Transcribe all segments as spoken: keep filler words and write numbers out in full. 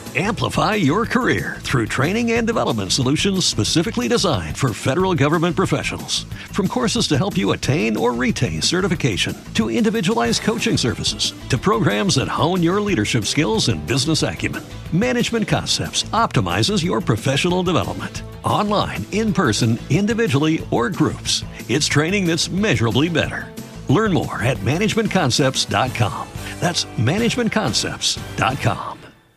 Amplify your career through training and development solutions specifically designed for federal government professionals. From courses to help you attain or retain certification, to individualized coaching services, to programs that hone your leadership skills and business acumen, Management Concepts optimizes your professional development. Online, in person, individually, or groups, it's training that's measurably better. Learn more at management concepts dot com. That's management concepts dot com.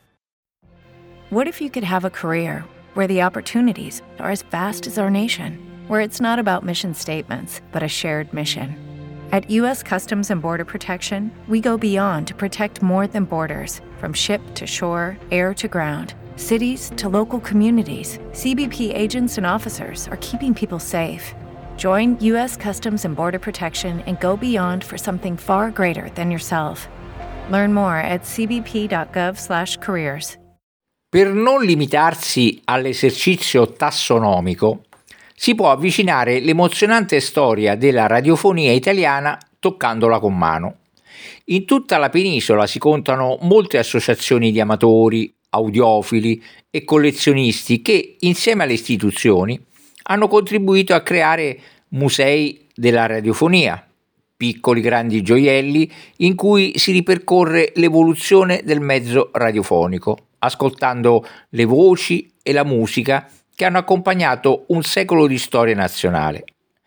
What if you could have a career where the opportunities are as vast as our nation, where it's not about mission statements, but a shared mission? At U S Customs and Border Protection, we go beyond to protect more than borders. From ship to shore, air to ground, cities to local communities, C B P agents and officers are keeping people safe. Join U S Customs and Border Protection and go beyond for something far greater than yourself. Learn more at c b p dot gov slash careers. Per non limitarsi all'esercizio tassonomico, si può avvicinare l'emozionante storia della radiofonia italiana toccandola con mano. In tutta la penisola si contano molte associazioni di amatori, audiofili e collezionisti che, insieme alle istituzioni, hanno contribuito a creare musei della radiofonia, piccoli grandi gioielli in cui si ripercorre l'evoluzione del mezzo radiofonico, ascoltando le voci e la musica che hanno accompagnato un secolo di storia nazionale.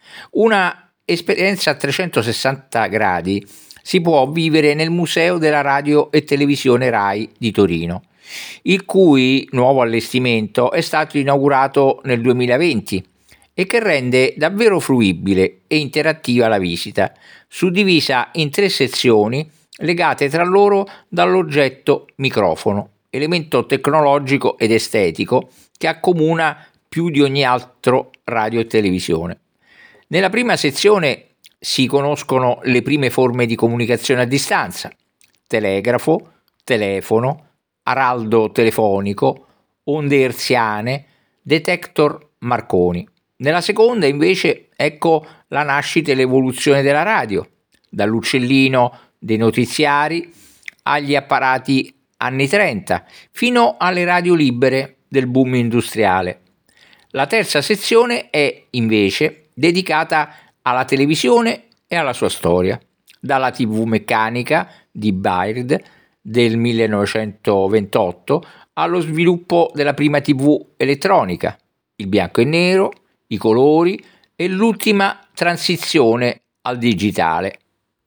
Una esperienza a trecentosessanta gradi si può vivere nel Museo della Radio e Televisione RAI di Torino, il cui nuovo allestimento è stato inaugurato nel duemilaventi e che rende davvero fruibile e interattiva la visita, suddivisa in tre sezioni legate tra loro dall'oggetto microfono, elemento tecnologico ed estetico che accomuna più di ogni altro radio e televisione. Nella prima sezione si conoscono le prime forme di comunicazione a distanza: telegrafo, telefono, araldo telefonico, onde hertziane, detector Marconi. Nella seconda, invece, ecco la nascita e l'evoluzione della radio, dall'uccellino dei notiziari agli apparati anni trenta, fino alle radio libere del boom industriale. La terza sezione è, invece, dedicata alla televisione e alla sua storia, dalla tivù meccanica di Baird del millenovecentoventotto allo sviluppo della prima tivù elettronica, il bianco e nero, i colori e l'ultima transizione al digitale.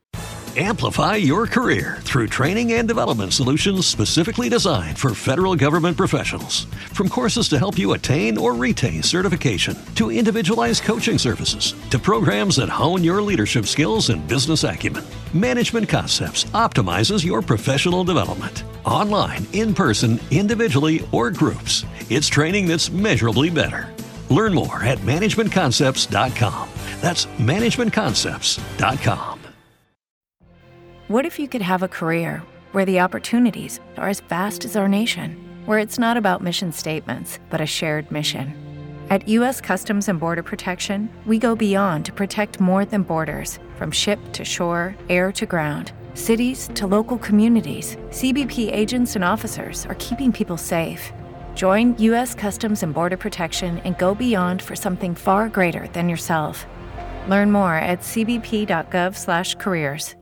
Amplify your career through training and development solutions specifically designed for federal government professionals. From courses to help you attain or retain certification, to individualized coaching services, to programs that hone your leadership skills and business acumen, Management Concepts optimizes your professional development. Online, in person, individually, or groups, it's training that's measurably better. Learn more at management concepts dot com. That's management concepts dot com. What if you could have a career where the opportunities are as vast as our nation, where it's not about mission statements, but a shared mission? At U S Customs and Border Protection, we go beyond to protect more than borders. From ship to shore, air to ground, cities to local communities, C B P agents and officers are keeping people safe. Join U S Customs and Border Protection and go beyond for something far greater than yourself. Learn more at c b p dot gov slash careers.